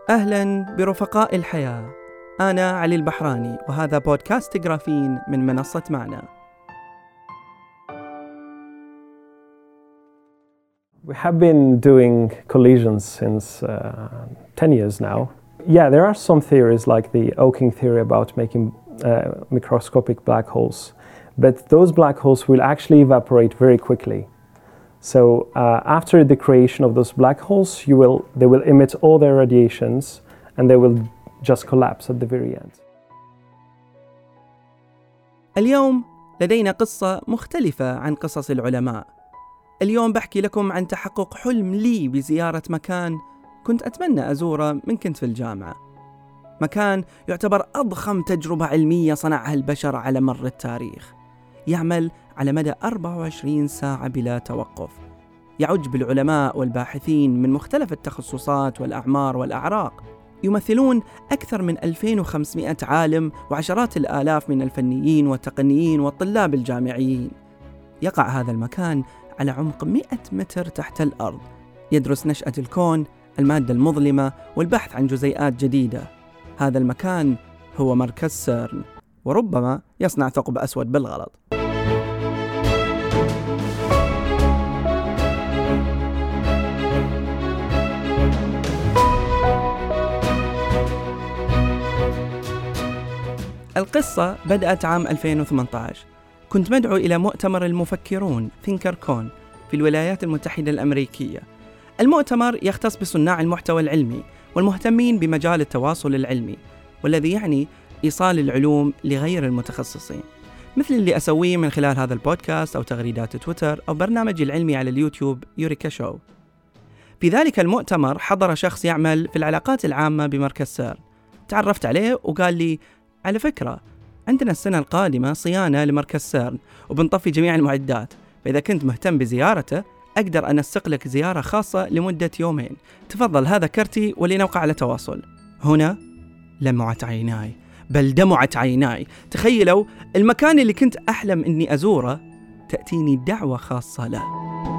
أهلاً برفقاء الحياة. أنا علي البحراني وهذا بودكاست جرافين من منصة معنا. We have been doing collisions since 10 years now. Yeah, there are some theories like the Oking theory about making microscopic black holes, but those black holes will actually evaporate very quickly. So after the creation of those black holes, they will emit all their radiations and they will just collapse at the very end. اليوم لدينا قصة مختلفة عن قصص العلماء. اليوم بحكي لكم عن تحقق حلم لي بزيارة مكان كنت أتمنى أزوره من كنت في الجامعة. مكان يعتبر أضخم تجربة علمية صنعها البشر على مر التاريخ، يعمل على مدى 24 ساعة بلا توقف، يعج بالعلماء والباحثين من مختلف التخصصات والأعمار والأعراق، يمثلون أكثر من 2500 عالم وعشرات الآلاف من الفنيين والتقنيين والطلاب الجامعيين. يقع هذا المكان على عمق 100 متر تحت الأرض، يدرس نشأة الكون، المادة المظلمة والبحث عن جزيئات جديدة. هذا المكان هو مركز سيرن، وربما يصنع ثقب أسود بالغلط. القصة بدأت عام 2018. كنت مدعو إلى مؤتمر المفكرون ثينكركون في الولايات المتحدة الأمريكية. المؤتمر يختص بصناع المحتوى العلمي والمهتمين بمجال التواصل العلمي، والذي يعني إيصال العلوم لغير المتخصصين، مثل اللي أسويه من خلال هذا البودكاست أو تغريدات تويتر أو برنامجي العلمي على اليوتيوب يوريكا شو. في ذلك المؤتمر حضر شخص يعمل في العلاقات العامة بمركز سيرن. تعرفت عليه وقال لي: على فكرة، عندنا السنة القادمة صيانة لمركز سيرن وبنطفي جميع المعدات، فإذا كنت مهتم بزيارته أقدر أنسق لك زيارة خاصة لمدة 2 يوم. تفضل، هذا كرتي ولنوقع على تواصل. هنا لمعت عيناي، بل دمعت عيناي. تخيلوا المكان اللي كنت أحلم أني أزوره تأتيني دعوة خاصة له.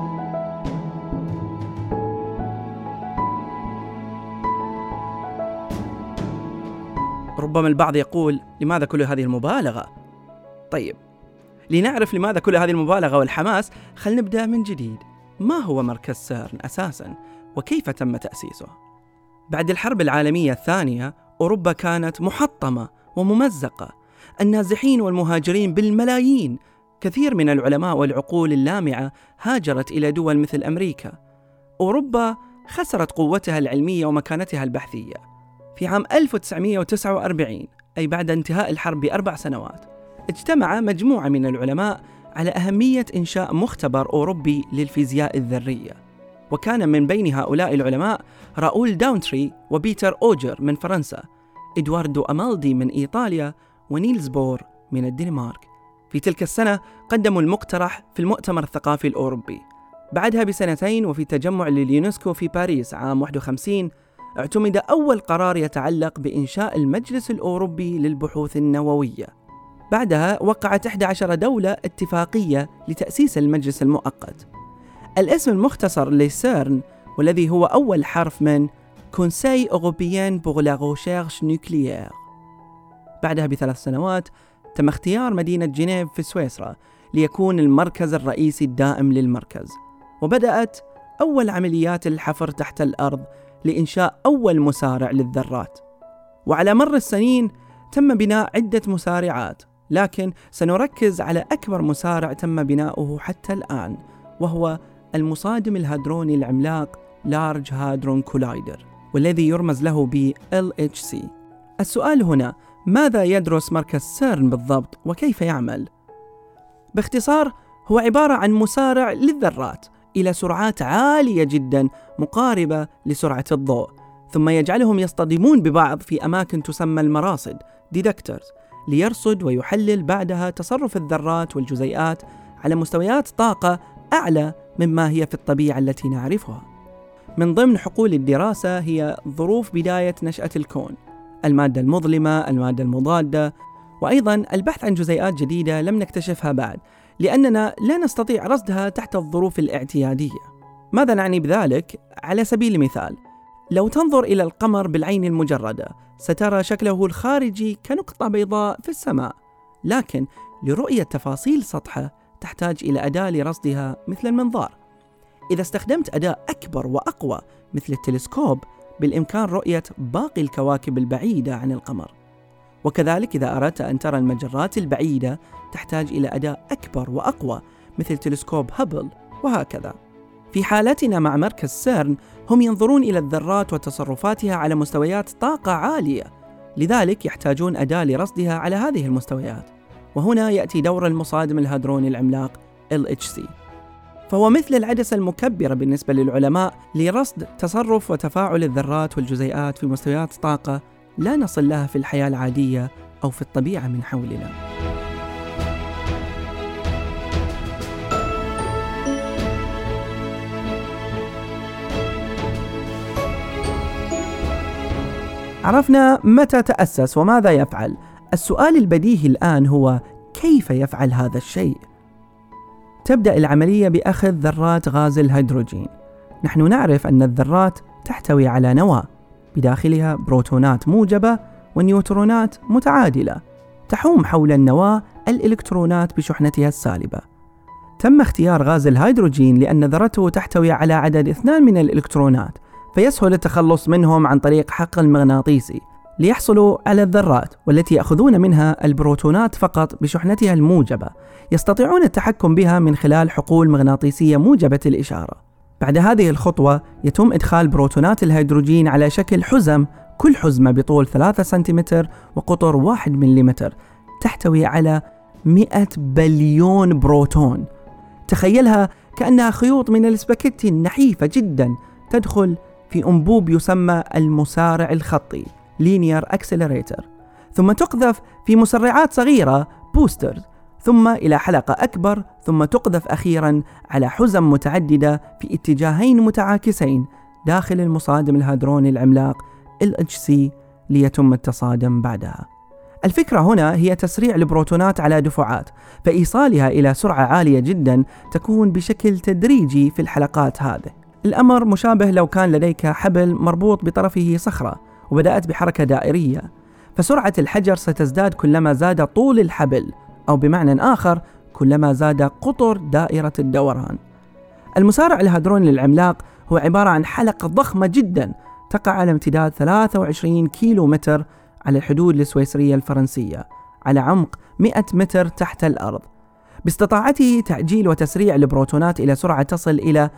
ربما البعض يقول: لماذا كل هذه المبالغة؟ طيب، لنعرف لماذا كل هذه المبالغة والحماس، خلينا نبدأ من جديد. ما هو مركز سيرن أساساً؟ وكيف تم تأسيسه؟ بعد الحرب العالمية الثانية، أوروبا كانت محطمة وممزقة، النازحين والمهاجرين بالملايين. كثير من العلماء والعقول اللامعة هاجرت إلى دول مثل أمريكا. أوروبا خسرت قوتها العلمية ومكانتها البحثية. في عام 1949، أي بعد انتهاء الحرب ب4 سنوات، اجتمع مجموعة من العلماء على أهمية إنشاء مختبر أوروبي للفيزياء الذرية. وكان من بين هؤلاء العلماء راؤول داونتري وبيتر أوجر من فرنسا، إدواردو أمالدي من إيطاليا، ونيلز بور من الدنمارك. في تلك السنة قدموا المقترح في المؤتمر الثقافي الأوروبي. بعدها ب2 وفي تجمع لليونسكو في باريس عام 51، اعتمد أول قرار يتعلق بإنشاء المجلس الأوروبي للبحوث النووية. بعدها وقعت 11 دولة اتفاقية لتأسيس المجلس المؤقت. الاسم المختصر لسيرن، والذي هو أول حرف من Conseil Européen pour la Recherche Nucléaire. بعدها ب3 سنوات تم اختيار مدينة جنيف في سويسرا ليكون المركز الرئيسي الدائم للمركز، وبدأت أول عمليات الحفر تحت الأرض لإنشاء أول مسارع للذرات. وعلى مر السنين تم بناء عدة مسارعات، لكن سنركز على أكبر مسارع تم بناؤه حتى الآن، وهو المصادم الهادروني العملاق Large Hadron Collider، والذي يرمز له ب LHC. السؤال هنا: ماذا يدرس مركز سيرن بالضبط وكيف يعمل؟ باختصار، هو عبارة عن مسارع للذرات إلى سرعات عالية جدا مقاربة لسرعة الضوء، ثم يجعلهم يصطدمون ببعض في أماكن تسمى المراصد ديتكتورز، ليرصد ويحلل بعدها تصرف الذرات والجزيئات على مستويات طاقة أعلى مما هي في الطبيعة التي نعرفها. من ضمن حقول الدراسة هي ظروف بداية نشأة الكون، المادة المظلمة، المادة المضادة، وأيضاً البحث عن جزيئات جديدة لم نكتشفها بعد، لأننا لا نستطيع رصدها تحت الظروف الاعتيادية. ماذا نعني بذلك؟ على سبيل المثال، لو تنظر إلى القمر بالعين المجردة سترى شكله الخارجي كنقطة بيضاء في السماء، لكن لرؤية تفاصيل سطحه تحتاج إلى أداة لرصدها مثل المنظار. إذا استخدمت أداة أكبر وأقوى مثل التلسكوب بالإمكان رؤية باقي الكواكب البعيدة عن القمر. وكذلك إذا أردت أن ترى المجرات البعيدة تحتاج إلى أداة أكبر وأقوى مثل تلسكوب هابل، وهكذا. في حالتنا مع مركز سيرن هم ينظرون إلى الذرات وتصرفاتها على مستويات طاقة عالية، لذلك يحتاجون أداة لرصدها على هذه المستويات، وهنا يأتي دور المصادم الهادروني العملاق LHC، فهو مثل العدسة المكبرة بالنسبة للعلماء لرصد تصرف وتفاعل الذرات والجزيئات في مستويات طاقة لا نصل لها في الحياة العادية أو في الطبيعة من حولنا. عرفنا متى تأسس وماذا يفعل. السؤال البديهي الآن هو كيف يفعل هذا الشيء؟ تبدأ العملية بأخذ ذرات غاز الهيدروجين. نحن نعرف أن الذرات تحتوي على نواة بداخلها بروتونات موجبة ونيوترونات متعادلة، تحوم حول النواة الإلكترونات بشحنتها السالبة. تم اختيار غاز الهيدروجين لأن ذرته تحتوي على عدد 2 من الإلكترونات، فيسهل التخلص منهم عن طريق حقل مغناطيسي ليحصلوا على الذرات، والتي يأخذون منها البروتونات فقط بشحنتها الموجبة، يستطيعون التحكم بها من خلال حقول مغناطيسية موجبة الإشارة. بعد هذه الخطوة يتم إدخال بروتونات الهيدروجين على شكل حزم، كل حزمة بطول 3 سنتيمتر وقطر 1 مليمتر، تحتوي على 100 بليون بروتون. تخيلها كأنها خيوط من الاسباجيتي النحيفة جدا تدخل في أنبوب يسمى المسارع الخطي Linear Accelerator، ثم تقذف في مسرعات صغيرة Boosters، ثم إلى حلقة أكبر، ثم تقذف أخيرا على حزم متعددة في اتجاهين متعاكسين داخل المصادم الهادروني العملاق LHC ليتم التصادم بعدها. الفكرة هنا هي تسريع البروتونات على دفعات، فإيصالها إلى سرعة عالية جدا تكون بشكل تدريجي في الحلقات هذه. الأمر مشابه لو كان لديك حبل مربوط بطرفه صخرة وبدأت بحركة دائرية، فسرعة الحجر ستزداد كلما زاد طول الحبل، أو بمعنى آخر كلما زاد قطر دائرة الدوران. المسارع الهادروني العملاق هو عبارة عن حلقة ضخمة جدا تقع على امتداد 23 كيلومتر على الحدود السويسرية الفرنسية، على عمق 100 متر تحت الأرض، باستطاعته تعجيل وتسريع البروتونات إلى سرعة تصل إلى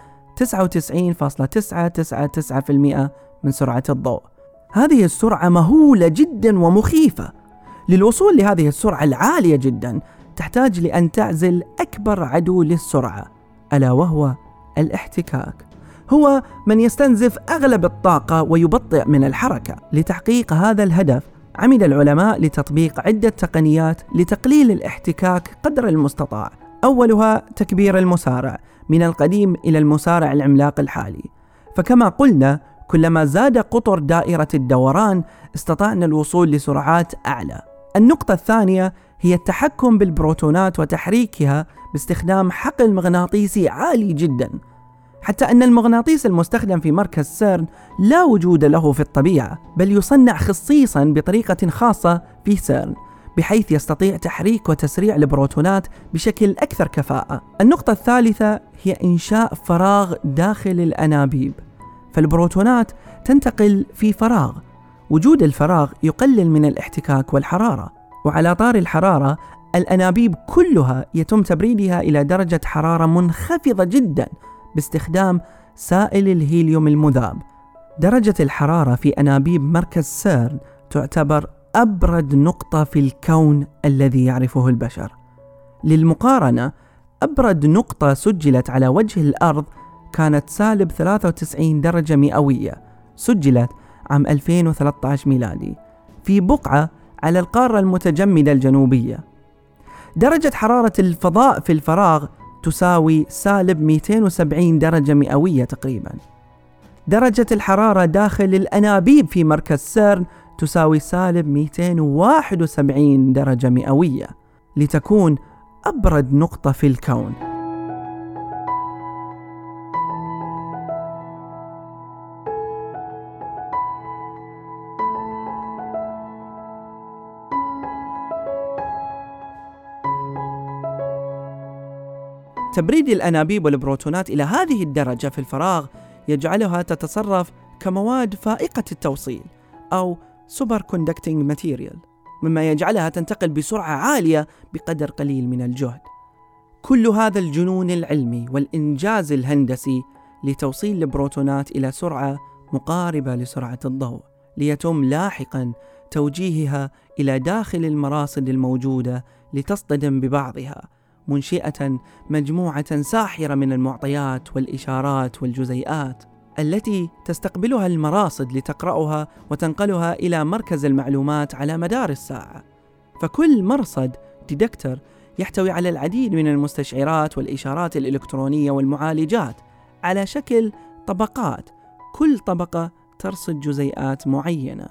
99.999% من سرعة الضوء. هذه السرعة مهولة جدا ومخيفة. للوصول لهذه السرعة العالية جدا تحتاج لأن تعزل أكبر عدو للسرعة، ألا وهو الاحتكاك. هو من يستنزف أغلب الطاقة ويبطئ من الحركة. لتحقيق هذا الهدف عمد العلماء لتطبيق عدة تقنيات لتقليل الاحتكاك قدر المستطاع. أولها تكبير المسارع من القديم إلى المسارع العملاق الحالي، فكما قلنا كلما زاد قطر دائرة الدوران استطعنا الوصول لسرعات أعلى. النقطة الثانية هي التحكم بالبروتونات وتحريكها باستخدام حقل مغناطيسي عالي جدا، حتى أن المغناطيس المستخدم في مركز سيرن لا وجود له في الطبيعة، بل يصنع خصيصا بطريقة خاصة في سيرن، بحيث يستطيع تحريك وتسريع البروتونات بشكل أكثر كفاءة. النقطة الثالثة هي إنشاء فراغ داخل الأنابيب، فالبروتونات تنتقل في فراغ. وجود الفراغ يقلل من الاحتكاك والحرارة. وعلى طار الحرارة، الأنابيب كلها يتم تبريدها إلى درجة حرارة منخفضة جدا باستخدام سائل الهيليوم المذاب. درجة الحرارة في أنابيب مركز سيرن تعتبر أبرد نقطة في الكون الذي يعرفه البشر. للمقارنة، أبرد نقطة سجلت على وجه الأرض كانت سالب 93 درجة مئوية، سجلت عام 2013 ميلادي في بقعة على القارة المتجمدة الجنوبية. درجة حرارة الفضاء في الفراغ تساوي سالب 270 درجة مئوية تقريبا. درجة الحرارة داخل الأنابيب في مركز سيرن تساوي سالب 271 درجة مئوية، لتكون أبرد نقطة في الكون. تبريد الأنابيب والبروتونات إلى هذه الدرجة في الفراغ يجعلها تتصرف كمواد فائقة التوصيل أو سوبر كوندكتنج ماتيريال، مما يجعلها تنتقل بسرعة عالية بقدر قليل من الجهد. كل هذا الجنون العلمي والإنجاز الهندسي لتوصيل البروتونات إلى سرعة مقاربة لسرعة الضوء، ليتم لاحقاً توجيهها إلى داخل المراصد الموجودة لتصطدم ببعضها، منشئة مجموعة ساحرة من المعطيات والإشارات والجزيئات التي تستقبلها المراصد لتقرأها وتنقلها إلى مركز المعلومات على مدار الساعة. فكل مرصد ديتكتور يحتوي على العديد من المستشعرات والإشارات الإلكترونية والمعالجات على شكل طبقات، كل طبقة ترصد جزيئات معينة.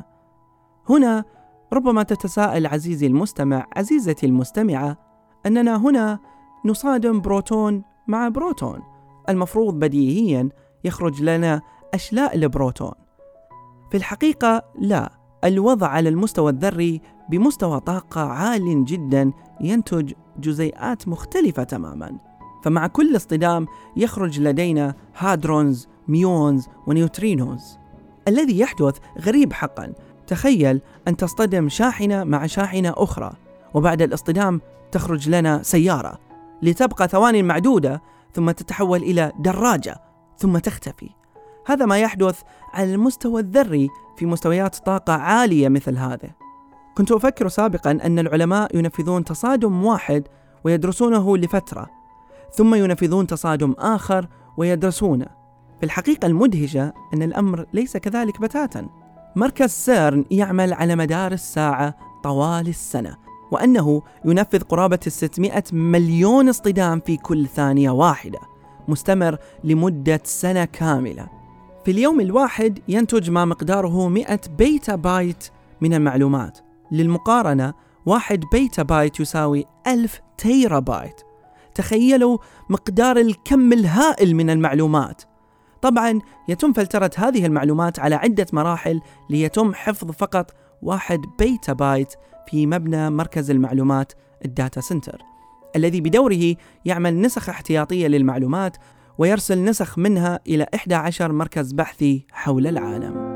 هنا ربما تتساءل عزيزي المستمع، عزيزتي المستمعة، أننا هنا نصادم بروتون مع بروتون، المفروض بديهياً يخرج لنا أشلاء البروتون. في الحقيقة لا، الوضع على المستوى الذري بمستوى طاقة عال جدا ينتج جزيئات مختلفة تماما، فمع كل اصطدام يخرج لدينا هادرونز، ميونز ونيوترينوز. الذي يحدث غريب حقا. تخيل أن تصطدم شاحنة مع شاحنة أخرى، وبعد الاصطدام تخرج لنا سيارة لتبقى ثواني معدودة ثم تتحول إلى دراجة ثم تختفي. هذا ما يحدث على المستوى الذري في مستويات طاقة عالية مثل هذا. كنت أفكر سابقا أن العلماء ينفذون تصادم واحد ويدرسونه لفترة، ثم ينفذون تصادم آخر ويدرسونه. في الحقيقة المدهشة أن الأمر ليس كذلك بتاتا. مركز سيرن يعمل على مدار الساعة طوال السنة، وأنه ينفذ قرابة 600 مليون اصطدام في كل ثانية واحدة، مستمر لمدة سنة كاملة. في اليوم الواحد ينتج ما مقداره 100 بيتا بايت من المعلومات. للمقارنة 1 بيتا بايت يساوي 1000 تيرا بايت. تخيلوا مقدار الكم الهائل من المعلومات. طبعا يتم فلترة هذه المعلومات على عدة مراحل ليتم حفظ فقط 1 بيتا بايت في مبنى مركز المعلومات الداتا سنتر، الذي بدوره يعمل نسخ احتياطية للمعلومات ويرسل نسخ منها إلى 11 مركز بحثي حول العالم.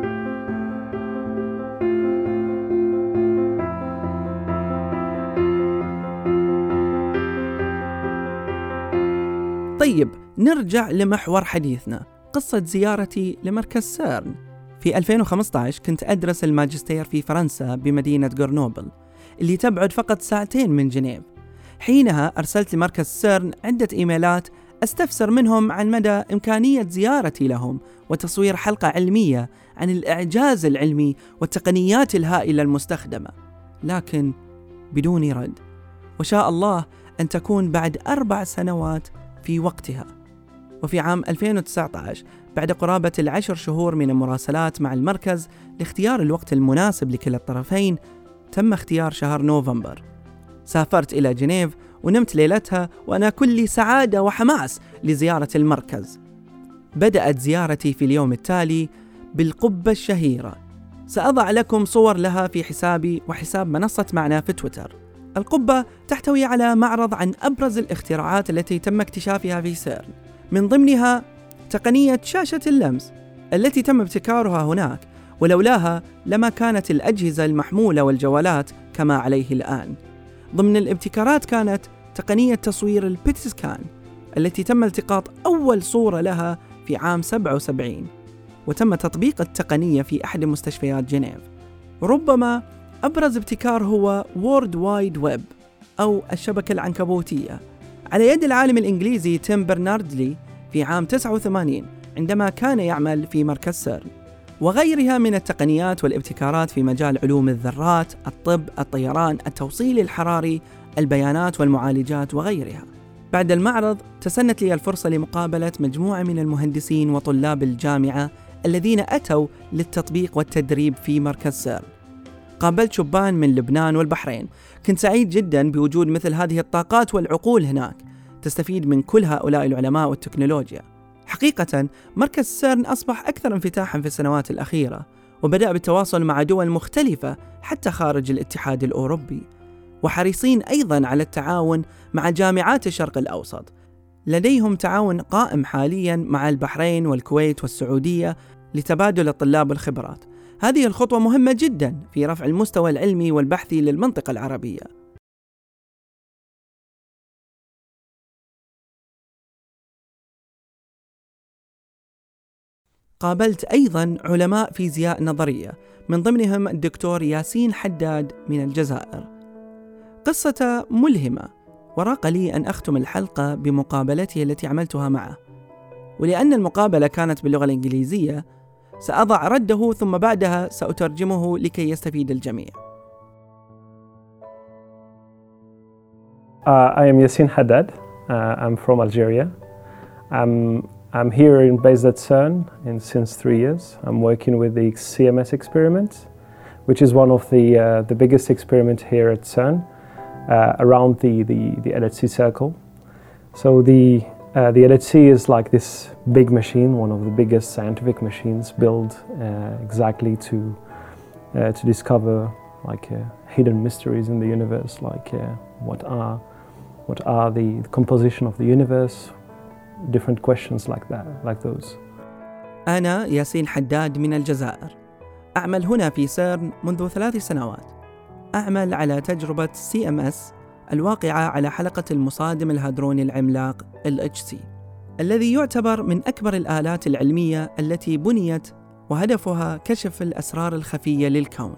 طيب نرجع لمحور حديثنا، قصة زيارتي لمركز سيرن. في 2015 كنت أدرس الماجستير في فرنسا بمدينة غرنوبل اللي تبعد فقط 2 ساعات من جنيف. حينها أرسلت لمركز سيرن عدة إيميلات أستفسر منهم عن مدى إمكانية زيارتي لهم وتصوير حلقة علمية عن الإعجاز العلمي والتقنيات الهائلة المستخدمة، لكن بدون رد. وشاء الله أن تكون بعد 4 سنوات في وقتها. وفي عام 2019 بعد قرابة 10 شهور من المراسلات مع المركز لاختيار الوقت المناسب لكلا الطرفين، تم اختيار شهر نوفمبر. سافرت إلى جنيف ونمت ليلتها وأنا كل سعادة وحماس لزيارة المركز. بدأت زيارتي في اليوم التالي بالقبة الشهيرة. سأضع لكم صور لها في حسابي وحساب منصة معنا في تويتر. القبة تحتوي على معرض عن أبرز الاختراعات التي تم اكتشافها في سيرن، من ضمنها تقنية شاشة اللمس التي تم ابتكارها هناك، ولولاها لما كانت الأجهزة المحمولة والجوالات كما عليه الآن. ضمن الابتكارات كانت تقنية تصوير البيت سكان التي تم التقاط أول صورة لها في عام 77، وتم تطبيق التقنية في أحد مستشفيات جنيف. ربما أبرز ابتكار هو وورد وايد ويب أو الشبكة العنكبوتية على يد العالم الإنجليزي تيم برناردلي في عام 89 عندما كان يعمل في مركز سيرن، وغيرها من التقنيات والابتكارات في مجال علوم الذرات، الطب، الطيران، التوصيل الحراري، البيانات والمعالجات وغيرها. بعد المعرض تسنت لي الفرصة لمقابلة مجموعة من المهندسين وطلاب الجامعة الذين أتوا للتطبيق والتدريب في مركز سيرن. قابلت شبان من لبنان والبحرين. كنت سعيد جدا بوجود مثل هذه الطاقات والعقول هناك تستفيد من كل هؤلاء العلماء والتكنولوجيا. حقيقة مركز سيرن أصبح أكثر انفتاحا في السنوات الأخيرة، وبدأ بالتواصل مع دول مختلفة حتى خارج الاتحاد الأوروبي، وحريصين أيضا على التعاون مع جامعات الشرق الأوسط. لديهم تعاون قائم حالياً مع البحرين والكويت والسعودية لتبادل الطلاب والخبرات. هذه الخطوة مهمة جداً في رفع المستوى العلمي والبحثي للمنطقة العربية. قابلت أيضاً علماء فيزياء نظرية، من ضمنهم الدكتور ياسين حداد من الجزائر. قصة ملهمة، وراق لي أن أختم الحلقة بمقابلتي التي عملتها معه، ولأن المقابلة كانت باللغة الإنجليزية سأضع رده ثم بعدها سأترجمه لكي يستفيد الجميع. I am Yassin Haddad. I'm from Algeria. I'm here based at CERN since 3 years. I'm working with the CMS experiment, which is one of the biggest experiments here at CERN around the LHC circle. So the LHC is like this big machine, one of the biggest scientific machines built exactly to discover like hidden mysteries in the universe, like what are the composition of the universe, different questions like that, like those. أنا ياسين حداد من الجزائر، أعمل هنا في سيرن منذ 3 سنوات. أعمل على تجربة CMS الواقعة على حلقة المصادم الهادروني العملاق LHC، الذي يعتبر من أكبر الآلات العلمية التي بنيت وهدفها كشف الأسرار الخفية للكون.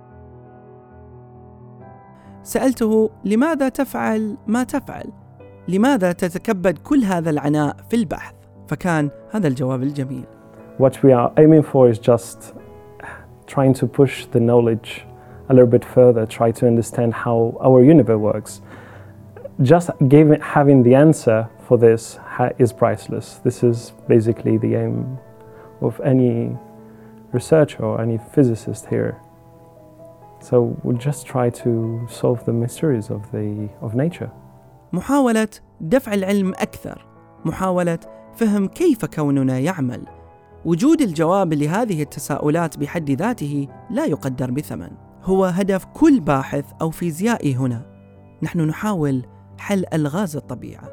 سألته لماذا تفعل ما تفعل؟ لماذا تتكبد كل هذا العناء في البحث؟ فكان هذا الجواب الجميل. What we are aiming for is just trying to push the knowledge a little bit further, try to understand how our universe works. Just having the answer for this is priceless. This is basically the aim of any researcher or any physicist here. So we just try to solve the mysteries of nature. محاولة دفع العلم أكثر، محاولة فهم كيف كوننا يعمل. وجود الجواب لهذه التساؤلات بحد ذاته لا يقدر بثمن، هو هدف كل باحث أو فيزيائي هنا. نحن نحاول حل ألغاز الطبيعة.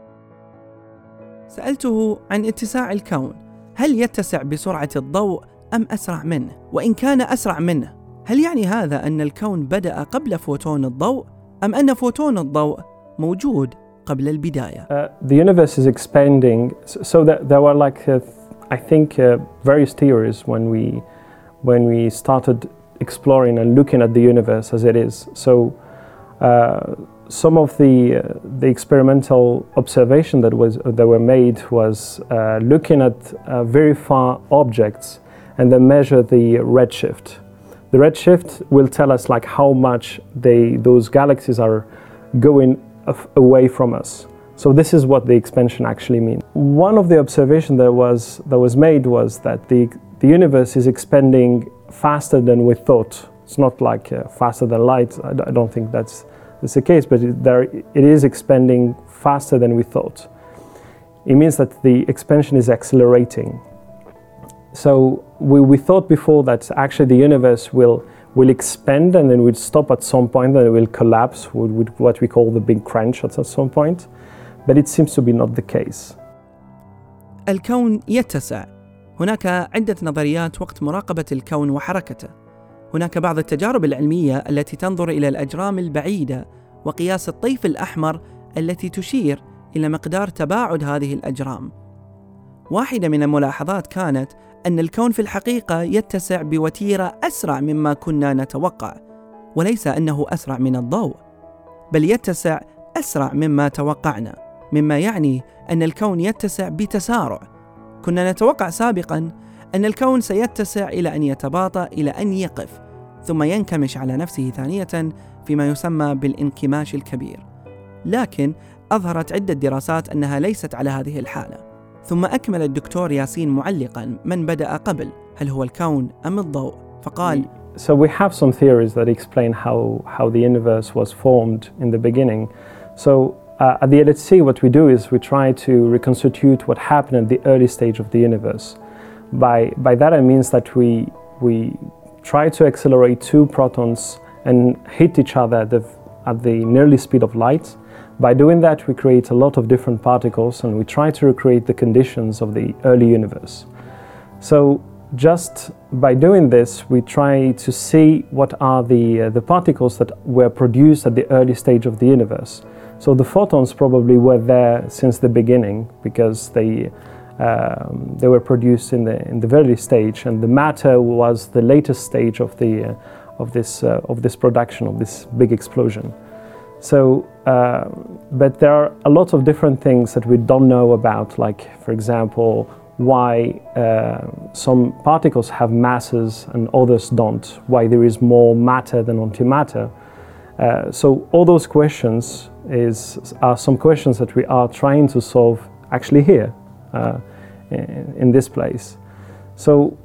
سألته عن اتساع الكون، هل يتسع بسرعة الضوء أم أسرع منه؟ وإن كان أسرع منه، هل يعني هذا أن الكون بدأ قبل فوتون الضوء أم أن فوتون الضوء موجود قبل البداية؟ The universe is expanding, so that there were like I think various theories when we started exploring and looking at the universe as it is. So some of the experimental observation that were made was looking at very far objects and then measure the redshift. The redshift will tell us like how much those galaxies are going away from us. So this is what the expansion actually means. One of the observations that was made was that the universe is expanding faster than we thought. It's not like faster than light. I don't think that's the case, but it is expanding faster than we thought. It means that the expansion is accelerating. So we thought before that actually the universe will expand and then will stop at some point, and it will collapse with what we call the big crunch at some point. But it seems to be not the case. الكون يتسع. هناك عدة نظريات وقت مراقبة الكون وحركته. هناك بعض التجارب العلمية التي تنظر إلى الأجرام البعيدة وقياس الطيف الأحمر التي تشير إلى مقدار تباعد هذه الأجرام. واحدة من الملاحظات كانت أن الكون في الحقيقة يتسع بوتيرة أسرع مما كنا نتوقع، وليس أنه أسرع من الضوء، بل يتسع أسرع مما توقعنا، مما يعني أن الكون يتسع بتسارع. كنا نتوقع سابقاً أن الكون سيتسع إلى أن يتباطأ إلى أن يقف، ثم ينكمش على نفسه ثانية فيما يسمى بالانكماش الكبير. لكن أظهرت عدة دراسات أنها ليست على هذه الحالة. ثم أكمل الدكتور ياسين معلقاً: من بدأ قبل، هل هو الكون أم الضوء؟ فقال: So we have some theories that explain how the universe was formed in the beginning. So at the LHC, what we do is we try to reconstitute what happened at the early stage of the universe. By that I means that we try to accelerate two protons and hit each other at the nearly speed of light. By doing that, we create a lot of different particles and we try to recreate the conditions of the early universe. So just by doing this, we try to see what are the particles that were produced at the early stage of the universe. So the photons probably were there since the beginning because they were produced in the very stage, and the matter was the latest stage of this production, of this big explosion. So, but there are a lot of different things that we don't know about, like, for example, why some particles have masses and others don't, why there is more matter than antimatter. So all those questions are some questions that we are trying to solve actually here, in this place. So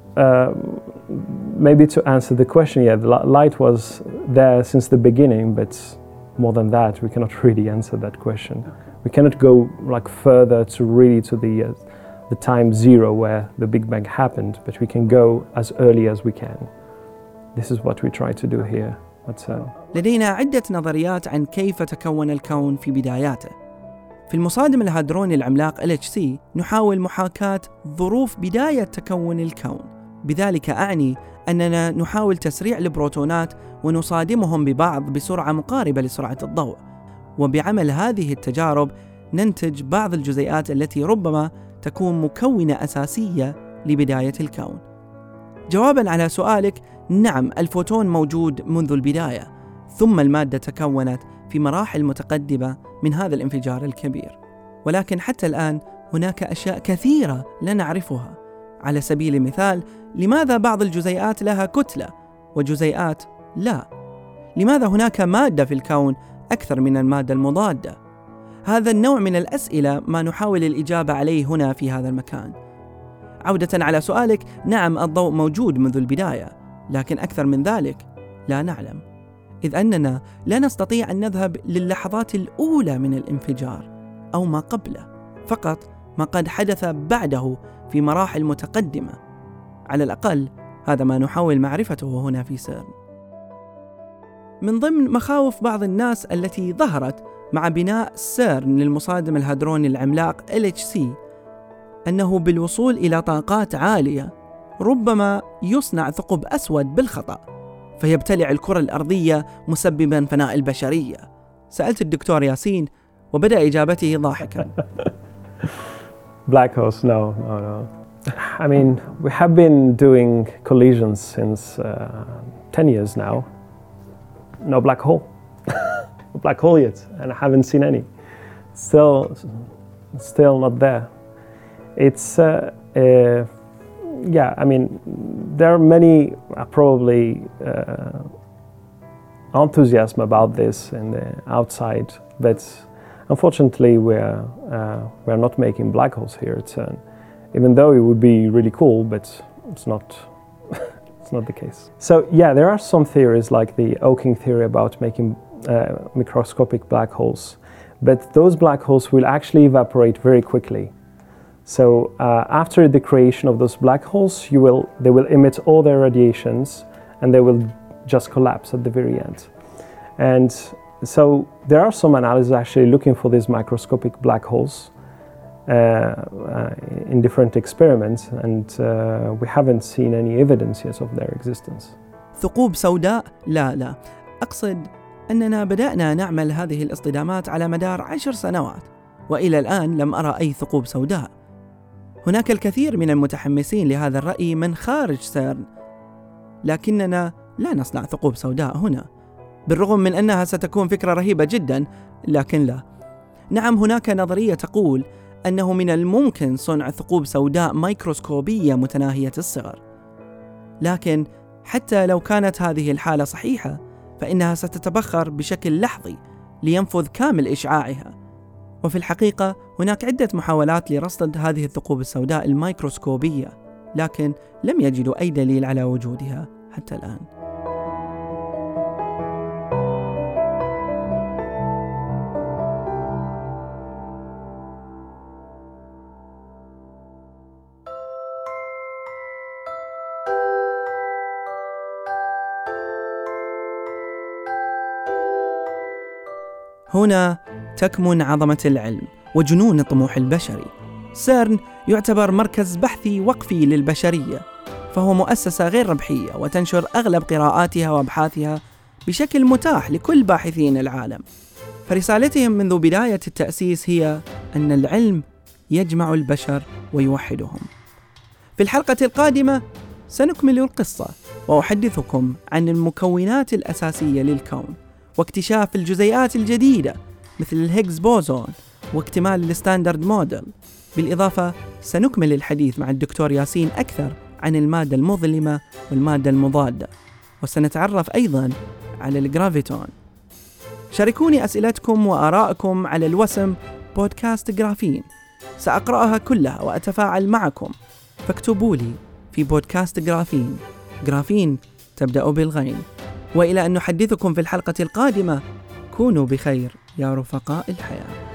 maybe to answer the question, yeah, the light was there since the beginning, but more than that, we cannot really answer that question. We cannot go like further to the time zero where the Big Bang happened, but we can go as early as we can. This is what we try to do here. لدينا عدة نظريات عن كيف تكون الكون في بداياته. في المصادم الهادروني العملاق LHC نحاول محاكاة ظروف بداية تكون الكون. بذلك أعني أننا نحاول تسريع البروتونات ونصادمهم ببعض بسرعة مقاربة لسرعة الضوء، وبعمل هذه التجارب ننتج بعض الجزيئات التي ربما تكون مكونة أساسية لبداية الكون. جواباً على سؤالك، نعم، الفوتون موجود منذ البداية، ثم المادة تكونت في مراحل متقدمة من هذا الانفجار الكبير. ولكن حتى الآن هناك أشياء كثيرة لا نعرفها. على سبيل المثال، لماذا بعض الجزيئات لها كتلة وجزيئات لا؟ لماذا هناك مادة في الكون أكثر من المادة المضادة؟ هذا النوع من الأسئلة ما نحاول الإجابة عليه هنا في هذا المكان. عودة على سؤالك، نعم، الضوء موجود منذ البداية، لكن أكثر من ذلك لا نعلم، إذ أننا لا نستطيع أن نذهب للحظات الأولى من الانفجار أو ما قبله، فقط ما قد حدث بعده في مراحل متقدمة. على الأقل هذا ما نحاول معرفته هنا في سيرن. من ضمن مخاوف بعض الناس التي ظهرت مع بناء سيرن للمصادم الهادروني العملاق LHC أنه بالوصول إلى طاقات عالية ربما يصنع ثقب أسود بالخطأ فيبتلع الكرة الأرضية مسبباً فناء البشرية. سألت الدكتور ياسين وبدأ إجابته ضاحكاً. Black holes, no. I mean, we have been doing collisions since 10 years now. No black hole. No black hole yet, and I haven't seen any. Still not there. It's, yeah, I mean, there are many probably enthusiasm about this in the outside, but unfortunately we're not making black holes here at CERN, even though it would be really cool, but it's not it's not the case. So yeah, there are some theories like the Hawking theory about making microscopic black holes, but those black holes will actually evaporate very quickly. So after the creation of those black holes, they will emit all their radiations and they will just collapse at the very end. And so there are some analyses actually looking for these microscopic black holes in different experiments, and we haven't seen any evidence yet of their existence. ثقوب سوداء؟ لا، أقصد أننا بدأنا نعمل هذه الاصطدامات على مدار 10 سنوات وإلى الآن لم أرى أي ثقوب سوداء. هناك الكثير من المتحمسين لهذا الرأي من خارج سيرن، لكننا لا نصنع ثقوب سوداء هنا، بالرغم من أنها ستكون فكرة رهيبة جدا، لكن لا. نعم، هناك نظرية تقول أنه من الممكن صنع ثقوب سوداء ميكروسكوبية متناهية الصغر، لكن حتى لو كانت هذه الحالة صحيحة فإنها ستتبخر بشكل لحظي لينفذ كامل إشعاعها. وفي الحقيقة هناك عدة محاولات لرصد هذه الثقوب السوداء الميكروسكوبية، لكن لم يجدوا أي دليل على وجودها حتى الآن. هنا تكمن عظمة العلم وجنون الطموح البشري. سيرن يعتبر مركز بحثي وقفي للبشرية، فهو مؤسسة غير ربحية وتنشر أغلب قراءاتها وأبحاثها بشكل متاح لكل باحثين العالم. فرسالتهم منذ بداية التأسيس هي أن العلم يجمع البشر ويوحدهم. في الحلقة القادمة سنكمل القصة وأحدثكم عن المكونات الأساسية للكون واكتشاف الجزيئات الجديدة مثل الهيغز بوزون واكتمال الستاندرد موديل. بالإضافة سنكمل الحديث مع الدكتور ياسين أكثر عن المادة المظلمة والمادة المضادة، وسنتعرف أيضاً على الجرافيتون. شاركوني أسئلتكم وآراءكم على الوسم بودكاست جرافين، سأقرأها كلها وأتفاعل معكم، فاكتبوا لي في بودكاست جرافين. جرافين تبدأ بالغين. وإلى أن نحدثكم في الحلقة القادمة، كونوا بخير يا رفقاء الحياة.